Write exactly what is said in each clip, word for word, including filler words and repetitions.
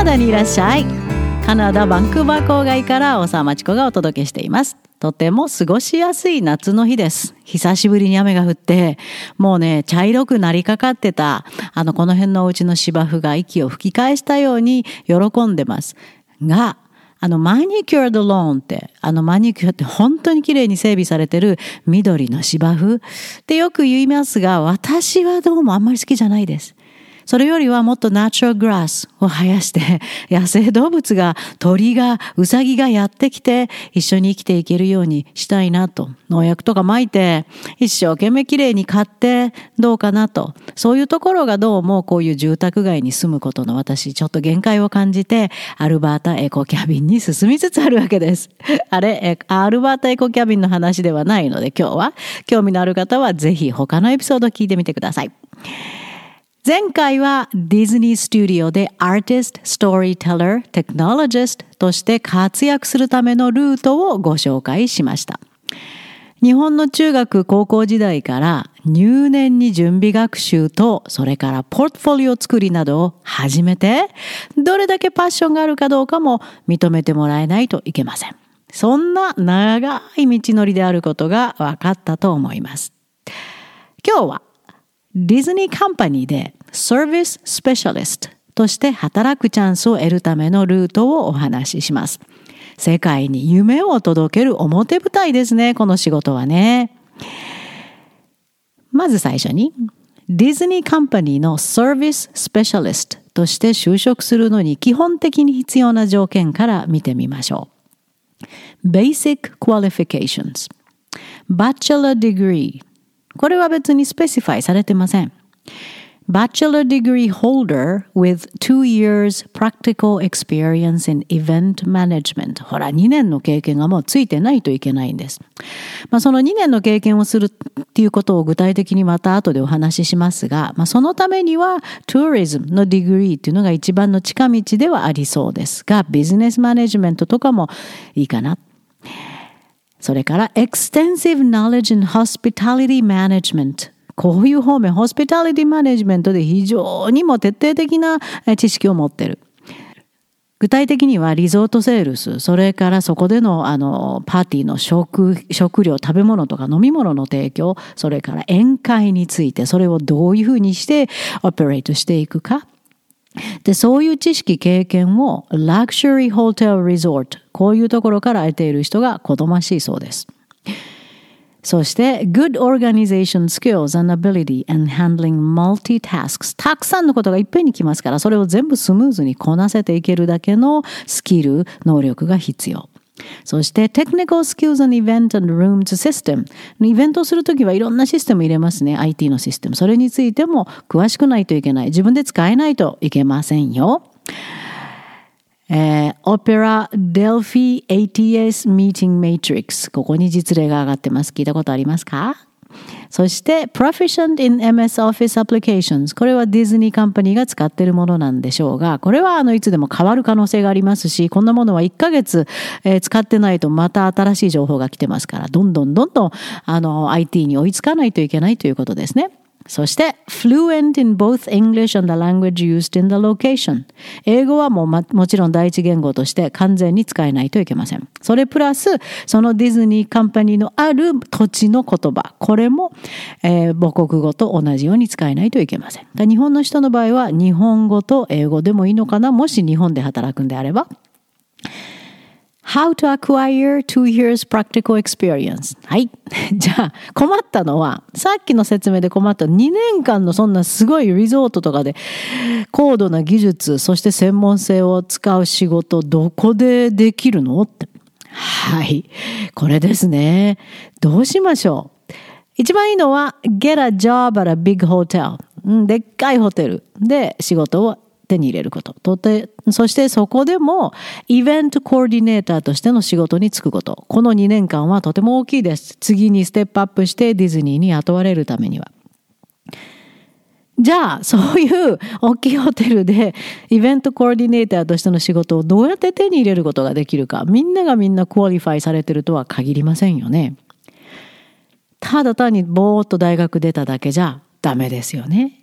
ナダにいらっしゃい。カナダバンクーバー郊外から大沢まちこがお届けしています。とても過ごしやすい夏の日です。久しぶりに雨が降って、もうね、茶色くなりかかってた、あの、この辺のお家の芝生が息を吹き返したように喜んでます。が、あの、マニキュアドローンって、あの、マニキュアって本当に綺麗に整備されてる緑の芝生ってよく言いますが、私はどうもあんまり好きじゃないです。それよりはもっとナチュラルグラスを生やして、野生動物が、鳥が、ウサギがやってきて、一緒に生きていけるようにしたいなと。農薬とか撒いて、一生懸命きれいに買って、どうかなと。そういうところがどうもこういう住宅街に住むことの私、ちょっと限界を感じて、アルバータエコキャビンに進みつつあるわけです。あれ、アルバータエコキャビンの話ではないので、今日は、興味のある方はぜひ他のエピソードを聞いてみてください。前回はディズニースタジオでアーティスト、ストーリーテラー、テクノロジストとして活躍するためのルートをご紹介しました。日本の中学高校時代から入念に準備学習とそれからポートフォリオ作りなどを始めて、どれだけパッションがあるかどうかも認めてもらえないといけません。そんな長い道のりであることが分かったと思います。今日はディズニーカンパニーでサービススペシャリストとして働くチャンスを得るためのルートをお話しします。世界に夢を届ける表舞台ですね、この仕事はね。まず最初に、ディズニーカンパニーのサービススペシャリストとして就職するのに基本的に必要な条件から見てみましょう。Basic Qualifications。Bachelor Degree。これは別にスペシファイされてません。Bachelor degree holder with two years practical experience in event management。ほら、にねんの経験がもうついてないといけないんです。まあ、そのにねんの経験をするっていうことを具体的にまた後でお話ししますが、まあ、そのためには Tourism のディグリーっていうのが一番の近道ではありそうですが、ビジネスマネジメントとかもいいかな。それから Extensive Knowledge in Hospitality Management。こういう方面、ホスピタリティマネジメントで非常にも徹底的な知識を持っている。具体的にはリゾートセールス、それからそこでのあのパーティーの食、食料、食べ物とか飲み物の提供、それから宴会について、それをどういうふうにしてオペレートしていくか。で、そういう知識、経験をラクシュリーホテルリゾート、こういうところから得ている人が好ましいそうです。そして、good organization skills and ability and handling multitasks。たくさんのことがいっぺんに来ますから、それを全部スムーズにこなせていけるだけのスキル、能力が必要。そして、technical skills and event and rooms system。イベントをするときはいろんなシステム入れますね。アイティー のシステム。それについても詳しくないといけない。自分で使えないといけませんよ。えー、Opera Delphi エーティーエス Meeting Matrix。ここに実例が上がってます。聞いたことありますか？そして、Proficient in エムエス Office Applications。これはディズニーカンパニーが使っているものなんでしょうが、これはあのいつでも変わる可能性がありますし、こんなものはいっかげつ、えー、使ってないとまた新しい情報が来てますから、どんどんどんどんあの アイティー に追いつかないといけないということですね。そして、fluent in both English and the language used in the location。英語はもう、ま、もちろん第一言語として完全に使えないといけません。それプラス、そのディズニーカンパニーのある土地の言葉。これも、えー、母国語と同じように使えないといけません。だ日本の人の場合は、日本語と英語でもいいのかな？もし日本で働くんであれば。How to acquire two years practical experience。はい。じゃあ、困ったのは、さっきの説明で困ったにねんかんのそんなすごいリゾートとかで高度な技術、そして専門性を使う仕事、どこでできるのって。はい。これですね。どうしましょう。一番いいのは、get a job at a big hotel。でっかいホテルで仕事を手に入れること。とて、そしてそこでもイベントコーディネーターとしての仕事に就くこと。このにねんかんはとても大きいです。次にステップアップしてディズニーに雇われるためには。じゃあ、そういう大きいホテルでイベントコーディネーターとしての仕事をどうやって手に入れることができるか。みんながみんなクオリファイされてるとは限りませんよね。ただ単にぼーっと大学出ただけじゃダメですよね。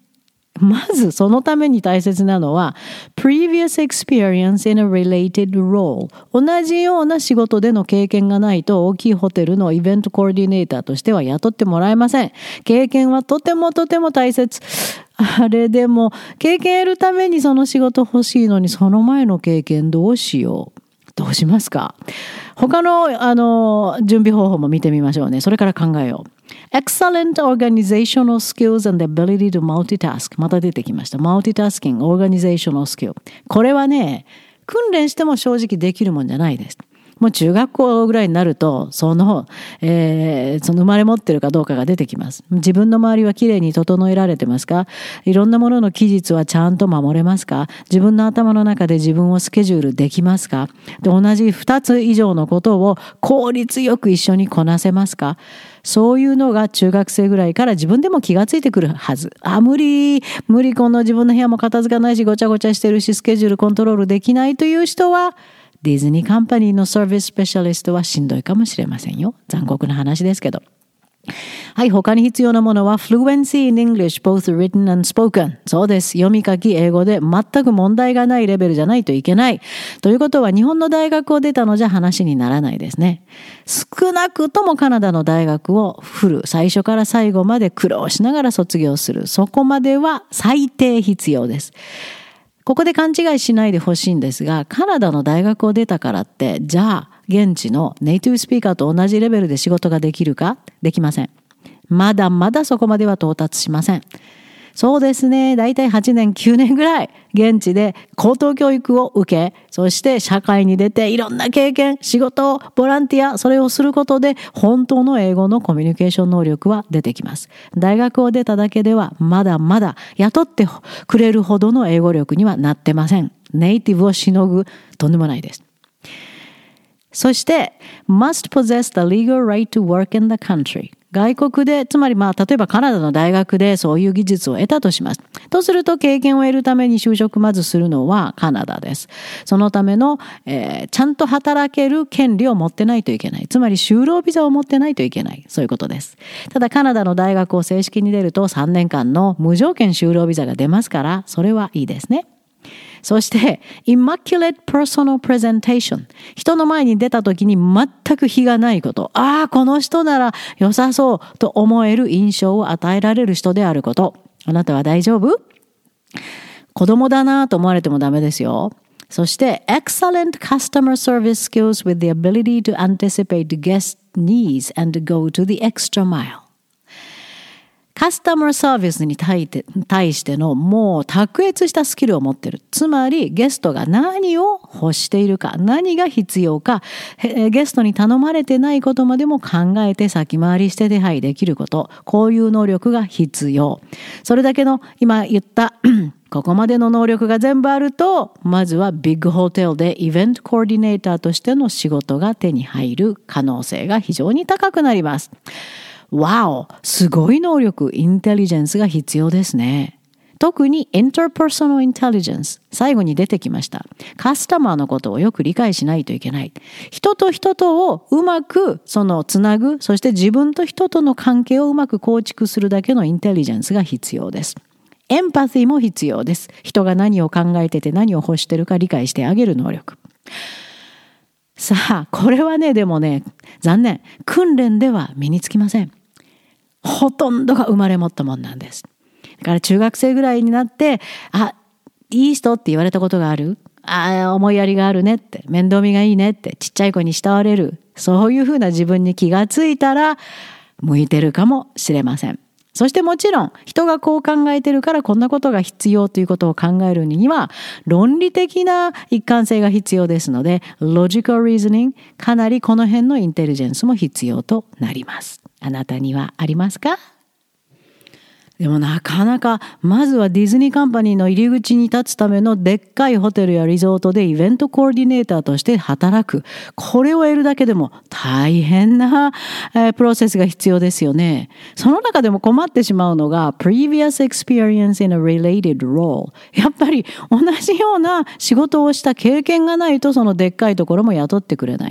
まずそのために大切なのは previous experience in a related role。 同じような仕事での経験がないと大きいホテルのイベントコーディネーターとしては雇ってもらえません。経験はとてもとても大切。あれでも経験得るためにその仕事欲しいのに、その前の経験どうしよう。どうしますか？他の、あの準備方法も見てみましょうね。それから考えよう。Excellent organizational skills and the ability to multitask。また出てきました。Multitasking, organizational skill。これはね、訓練しても正直できるもんじゃないです。もう中学校ぐらいになると、その、えー、その生まれ持ってるかどうかが出てきます。自分の周りはきれいに整えられてますか？いろんなものの期日はちゃんと守れますか？自分の頭の中で自分をスケジュールできますか？で、同じふたつ以上のことを効率よく一緒にこなせますか？そういうのが中学生ぐらいから自分でも気がついてくるはず。あ、無理、無理、この自分の部屋も片付かないし、ごちゃごちゃしてるし、スケジュールコントロールできないという人は、ディズニーカンパニーのサービススペシャリストはしんどいかもしれませんよ。残酷な話ですけど。はい、他に必要なものは Fluency in English, both written and spoken。 そうです。読み書き英語で全く問題がないレベルじゃないといけない。ということは日本の大学を出たのじゃ話にならないですね。少なくともカナダの大学をフル、最初から最後まで苦労しながら卒業する。そこまでは最低必要です。ここで勘違いしないでほしいんですが、カナダの大学を出たからって、じゃあ、現地のネイティブスピーカーと同じレベルで仕事ができるか？できません。まだまだそこまでは到達しません。そうですね。だいたいはちねん、きゅうねんぐらい現地で高等教育を受け、そして社会に出ていろんな経験、仕事、ボランティア、それをすることで本当の英語のコミュニケーション能力は出てきます。大学を出ただけではまだまだ雇ってくれるほどの英語力にはなってません。ネイティブをしのぐとんでもないです。そして、must possess the legal right to work in the country。外国で、つまりまあ、例えばカナダの大学でそういう技術を得たとします。とすると、経験を得るために就職まずするのはカナダです。そのための、えー、ちゃんと働ける権利を持ってないといけない。つまり、就労ビザを持ってないといけない。そういうことです。ただ、カナダの大学を正式に出るとさんねんかんの無条件就労ビザが出ますから、それはいいですね。そして、immaculate personal presentation。人の前に出た時に全く非がないこと。ああ、この人なら良さそうと思える印象を与えられる人であること。あなたは大丈夫？子供だなと思われてもダメですよ。そして、excellent customer service skills with the ability to anticipate guest needs and go to the extra mile。カスタマーサービスに対してのもう卓越したスキルを持っている。つまりゲストが何を欲しているか、何が必要か、ゲストに頼まれてないことまでも考えて先回りして手配できること。こういう能力が必要。それだけの今言ったここまでの能力が全部あると、まずはビッグホテルでイベントコーディネーターとしての仕事が手に入る可能性が非常に高くなります。わお、すごい能力、インテリジェンスが必要ですね。特にインターパーソナルインテリジェンス、最後に出てきました。カスタマーのことをよく理解しないといけない。人と人とをうまくそのつなぐ、そして自分と人との関係をうまく構築するだけのインテリジェンスが必要です。エンパシーも必要です。人が何を考えてて何を欲してるか理解してあげる能力。さあ、これはね、でもね、残念。訓練では身につきません。ほとんどが生まれ持ったもんなんです。だから中学生ぐらいになって、あ、いい人って言われたことがある？あ、思いやりがあるねって、面倒見がいいねって、ちっちゃい子に慕われる。そういうふうな自分に気がついたら、向いてるかもしれません。そしてもちろん、人がこう考えてるからこんなことが必要ということを考えるには、論理的な一貫性が必要ですので、logical reasoning、かなりこの辺のインテリジェンスも必要となります。あなたにはありますか？でもなかなか、まずはディズニーカンパニーの入り口に立つためのでっかいホテルやリゾートでイベントコーディネーターとして働く。これを得るだけでも大変な、えー、プロセスが必要ですよね。その中でも困ってしまうのが previous experience in a related role。やっぱり同じような仕事をした経験がないとそのでっかいところも雇ってくれない。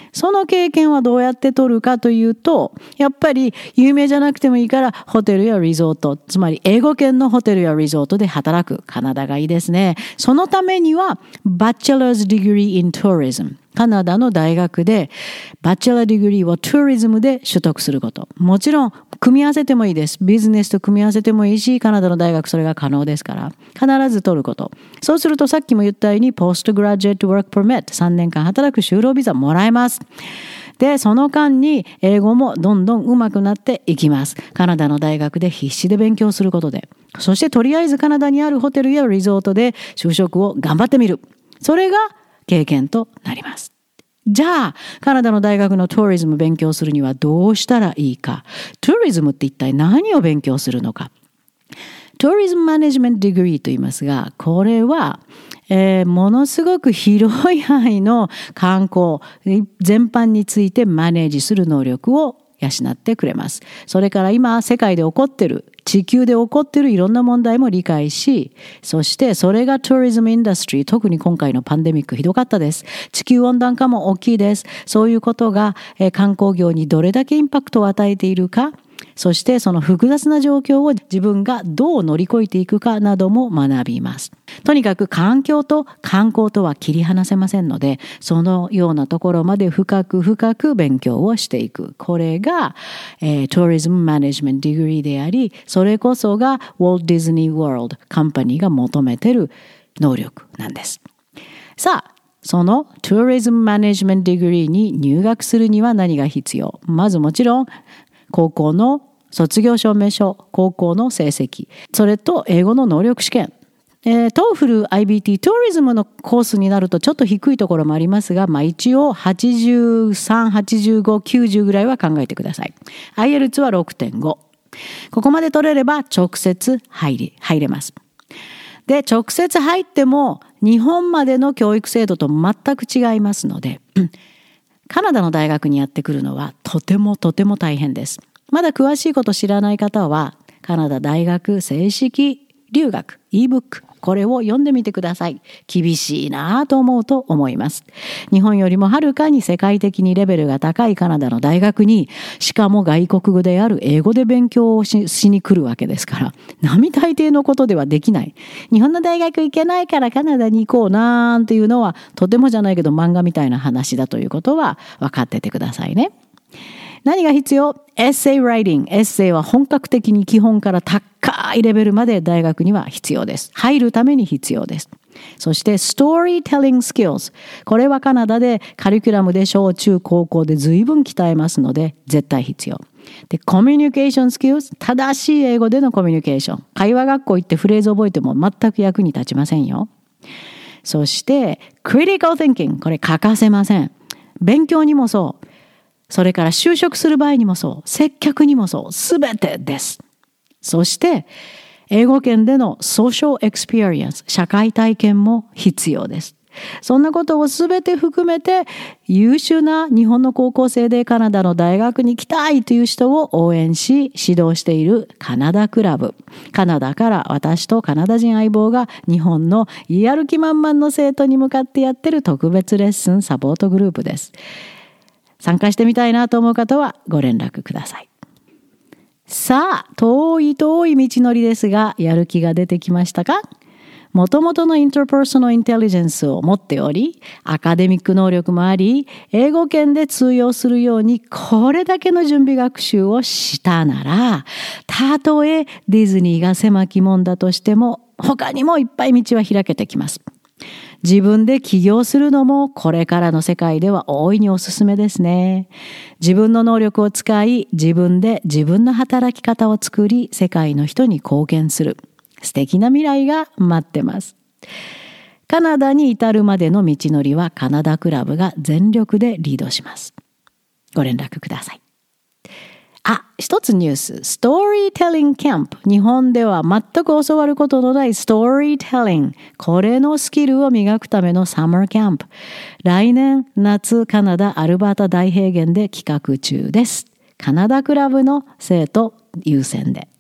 その経験はどうやって取るかというと、やっぱり有名じゃなくてもいいからホテルやリゾート、つまり英語圏のホテルやリゾートで働く。カナダがいいですね。そのためには Bachelor's Degree in Tourism、 カナダの大学でバチェラーディグリーをトゥーリズムで取得すること。もちろん組み合わせてもいいです。ビジネスと組み合わせてもいいし、カナダの大学それが可能ですから必ず取ること。そうするとさっきも言ったようにポストグラジュエットワークパーミット、さんねんかん働く就労ビザもらえます。で、その間に英語もどんどん上手くなっていきます。カナダの大学で必死で勉強することで。そしてとりあえずカナダにあるホテルやリゾートで就職を頑張ってみる。それが経験となります。じゃあ、カナダの大学のトゥーリズム勉強するにはどうしたらいいか。トゥーリズムって一体何を勉強するのか。トゥーリズムマネジメントディグリーと言いますが、これは、えー、ものすごく広い範囲の観光全般についてマネージする能力を養ってくれます。それから今世界で起こっている、地球で起こっているいろんな問題も理解し、そしてそれがトゥーリズムインダストリー、特に今回のパンデミックひどかったです。地球温暖化も大きいです。そういうことが、えー、観光業にどれだけインパクトを与えているか、そしてその複雑な状況を自分がどう乗り越えていくかなども学びます。とにかく環境と観光とは切り離せませんので、そのようなところまで深く深く勉強をしていく。これが、えー、トゥーリズムマネジメントディグリーであり、それこそがウォルト・ディズニー・ワールドカンパニーが求めている能力なんです。さあ、そのトゥーリズムマネジメントディグリーに入学するには何が必要？まずもちろん高校の卒業証明書、高校の成績、それと英語の能力試験。えー、トーフル アイビーティー トゥーリズムのコースになるとちょっと低いところもありますが、まあ一応はちじゅうさん、はちじゅうご、きゅうじゅうぐらいは考えてください。アイエルツ は ろくてんご。ここまで取れれば直接入り、入れます。で、直接入っても日本までの教育制度と全く違いますので、カナダの大学にやってくるのはとてもとても大変です。まだ詳しいこと知らない方は、カナダ大学正式留学 e-book、これを読んでみてください。厳しいなと思うと思います。日本よりもはるかに世界的にレベルが高いカナダの大学に、しかも外国語である英語で勉強を し, しに来るわけですから、並大抵のことではできない。日本の大学行けないからカナダに行こうなんていうのは、とてもじゃないけど漫画みたいな話だということは分かっててくださいね。何が必要？エッセイライティング。エッセイは本格的に基本から高いレベルまで大学には必要です。入るために必要です。そしてストーリーテリングスキルズ。これはカナダでカリキュラムで小中高校で随分鍛えますので絶対必要。で、コミュニケーションスキルズ。正しい英語でのコミュニケーション。会話学校行ってフレーズ覚えても全く役に立ちませんよ。そしてクリティカル・ティンキング。これ欠かせません。勉強にもそう。それから就職する場合にもそう、接客にもそう、すべてです。そして、英語圏でのソーシャルエクスペリエンス、社会体験も必要です。そんなことをすべて含めて、優秀な日本の高校生でカナダの大学に行きたいという人を応援し、指導しているカナダクラブ。カナダから私とカナダ人相棒が日本のやる気満々の生徒に向かってやってる特別レッスンサポートグループです。参加してみたいなと思う方はご連絡ください。さあ、遠い遠い道のりですが、やる気が出てきましたか？もともとのインターパーソナルインテリジェンスを持っており、アカデミック能力もあり、英語圏で通用するようにこれだけの準備学習をしたなら、たとえディズニーが狭き門だとしても、他にもいっぱい道は開けてきます。自分で起業するのもこれからの世界では大いにおすすめですね。自分の能力を使い、自分で自分の働き方を作り、世界の人に貢献する。素敵な未来が待ってます。カナダに至るまでの道のりはカナダクラブが全力でリードします。ご連絡ください。あ、一つニュース。ストーリーテリングキャンプ。日本では全く教わることのないストーリーテリング。これのスキルを磨くためのサマーキャンプ。来年夏カナダアルバータ大平原で企画中です。カナダクラブの生徒優先で。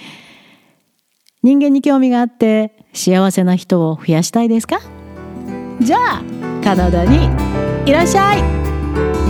人間に興味があって幸せな人を増やしたいですか？じゃあカナダにいらっしゃい。